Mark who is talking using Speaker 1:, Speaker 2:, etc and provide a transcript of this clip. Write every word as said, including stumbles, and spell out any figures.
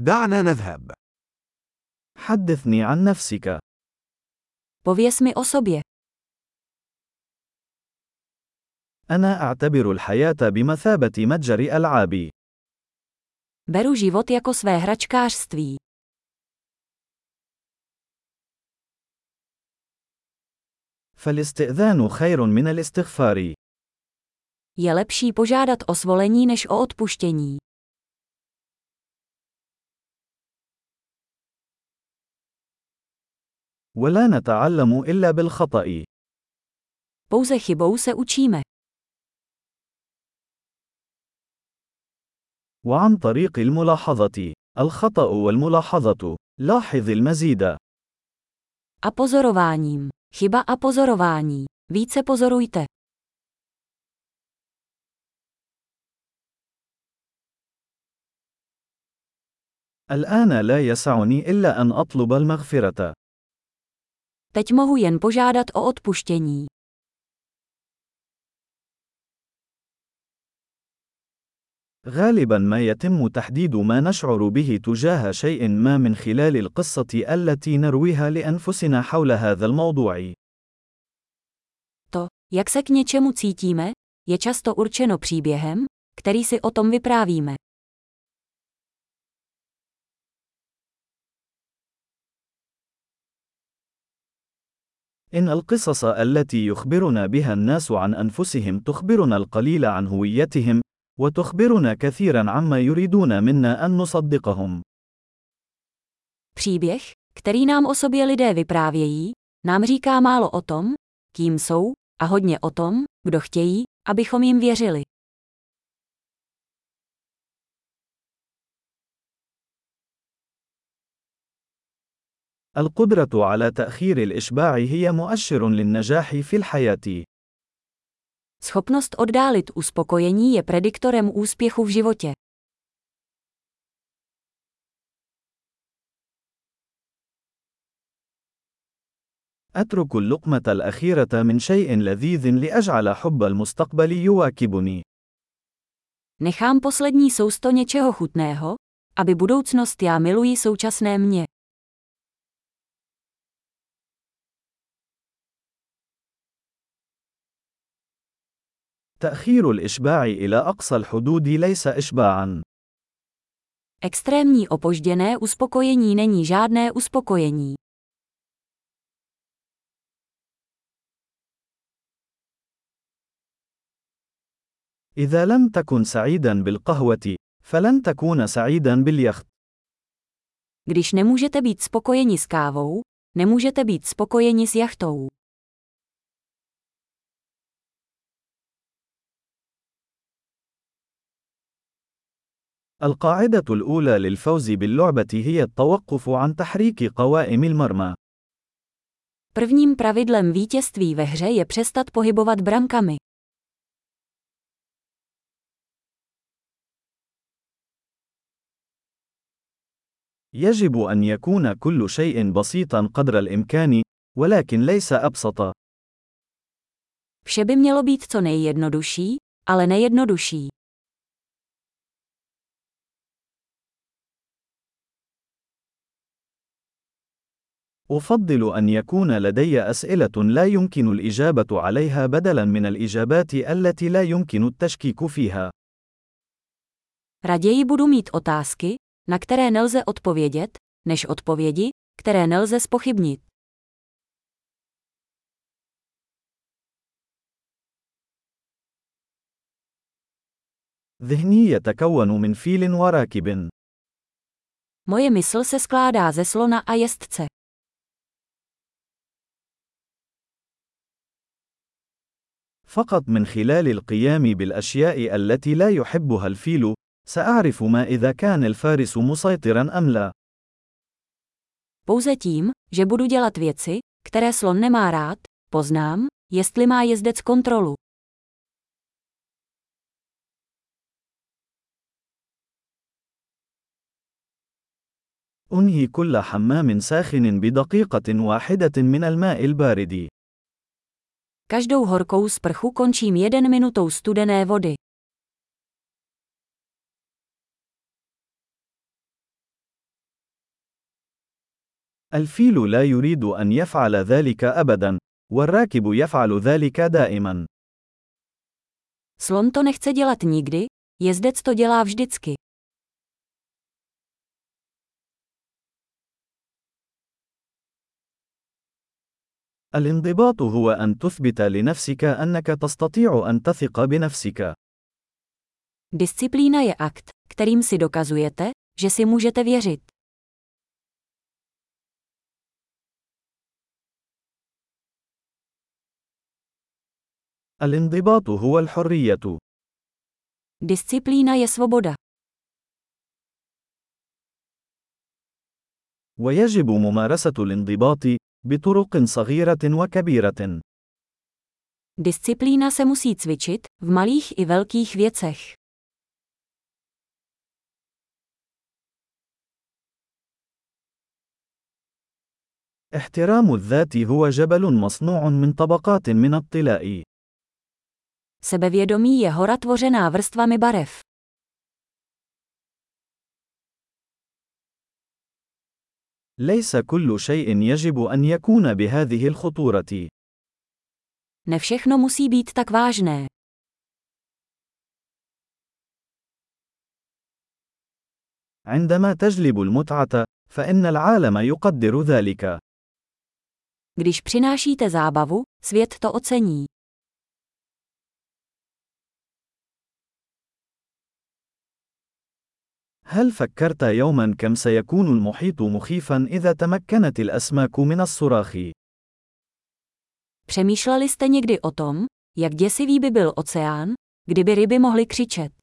Speaker 1: دعنا نذهب.
Speaker 2: حدثني عن نفسك.
Speaker 3: Pověz mi o sobě.
Speaker 2: أنا أعتبر الحياة بمثابة متجر ألعاب.
Speaker 3: Beru život jako své hračkářství.
Speaker 2: فالاستئذان خير من الاستغفار.
Speaker 3: Je lepší požádat o svolení než o odpuštění.
Speaker 2: ولا نتعلم إلا بالخطأ.
Speaker 3: Pouze chybou se učíme.
Speaker 2: وعن طريق الملاحظة. الخطأ والملاحظة. لاحظ المزيد.
Speaker 3: A pozorováním. Chyba a pozorování. Více pozorujte.
Speaker 2: الآن لا يسعني إلا أن أطلب المغفرة.
Speaker 3: Teď mohu jen požádat o odpuštění.
Speaker 2: غالبا ما يتم تحديد ما نشعر به تجاه شيء ما من خلال القصة التي نرويها لأنفسنا حول هذا الموضوع.
Speaker 3: To, jak se k něčemu cítíme, je často určeno příběhem, který si o tom vyprávíme.
Speaker 2: إن القصص التي يخبرنا بها الناس عن أنفسهم تخبرنا القليل عن هويتهم، وتخبرنا كثيرا عما يريدون منا أن نصدقهم.
Speaker 3: Příběh, který nám o sobě lidé vyprávějí, nám říká málo o tom, kým jsou, a hodně o tom, kdo chtějí, abychom jim věřili.
Speaker 2: القدرة على تأخير الإشباع هي مؤشر للنجاح في الحياة.
Speaker 3: Schopnost oddálit uspokojení je prediktorem úspěchu v životě.
Speaker 2: أترك اللقمة الأخيرة من شيء لذيذ لأجعل حب المستقبل يواكبني.
Speaker 3: Nechám poslední sousto něčeho chutného, aby budoucnost já miluji současné mě.
Speaker 2: تأخير الإشباع إلى أقصى الحدود ليس إشباعاً.
Speaker 3: Extrémní opožděné uspokojení není žádné uspokojení.
Speaker 2: إذا لم تكن سعيداً بالقهوة، فلن تكون سعيداً باليخت.
Speaker 3: Když nemůžete být spokojeni s kávou, nemůžete být spokojeni s jachtou.
Speaker 2: القاعدة الأولى للفوز باللعبة هي التوقف عن تحريك قوائم المرمى.
Speaker 3: Prvním pravidlem vítězství ve hře je přestat pohybovat brankami.
Speaker 2: يجب أن يكون كل شيء بسيطاً قدر الإمكان، ولكن ليس أبسط.
Speaker 3: Vše by mělo být co nejjednodušší, ale nejjednodušší.
Speaker 2: أفضل أن يكون لدي أسئلة لا يمكن الإجابة عليها بدلاً من الإجابات التي لا يمكن التشكيك فيها.
Speaker 3: Raději budu mít otázky, na které nelze odpovědět, než odpovědi, které nelze zpochybnit.
Speaker 2: ذهني يتكون من فيل وراكب.
Speaker 3: Moje mysl se skládá ze slona a jezdce.
Speaker 2: فقط من خلال القيام بالأشياء التي لا يحبها الفيل، سأعرف ما إذا كان الفارس مسيطراً أم لا.
Speaker 3: Pouze tím, že budu dělat věci, které slon nemá rád, poznám, jestli má jezdec kontrolu.
Speaker 2: أنهي كل حمام ساخن بدقيقة واحدة من الماء البارد.
Speaker 3: Každou horkou sprchu končím jeden minutou studené vody.
Speaker 2: الفيل لا يريد أن يفعل ذلك أبدا، والراكب يفعل ذلك دائما.
Speaker 3: Slon to nechce dělat nikdy, jezdec to dělá vždycky.
Speaker 2: الانضباط هو أن تثبت لنفسك أنك تستطيع أن تثق بنفسك.
Speaker 3: Disciplína je akt, kterým si dokazujete, že si můžete věřit.
Speaker 2: الانضباط هو الحرية.
Speaker 3: Disciplína je svoboda.
Speaker 2: ويجب ممارسة الانضباط بطرق صغيرة وكبيرة.
Speaker 3: Disciplína se musí cvičit v malých i velkých věcech.
Speaker 2: احترام الذات هو جبل مصنوع من طبقات من الطلاء.
Speaker 3: Sebevědomí je hora tvořená vrstvami barev.
Speaker 2: ليس كل شيء يجب أن يكون بهذه الخطورة.
Speaker 3: Ne všechno musí být tak vážné.
Speaker 2: عندما تجلب المتعة، فإن العالم يقدر ذلك.
Speaker 3: Když přinášíte zábavu, svět to ocení.
Speaker 2: هل فكرت يوما كم سيكون المحيط مخيفا إذا تمكنت الأسماك من الصراخ؟
Speaker 3: Přemýšleli jste někdy o tom, jak děsivý by byl oceán, kdyby ryby mohly křičet?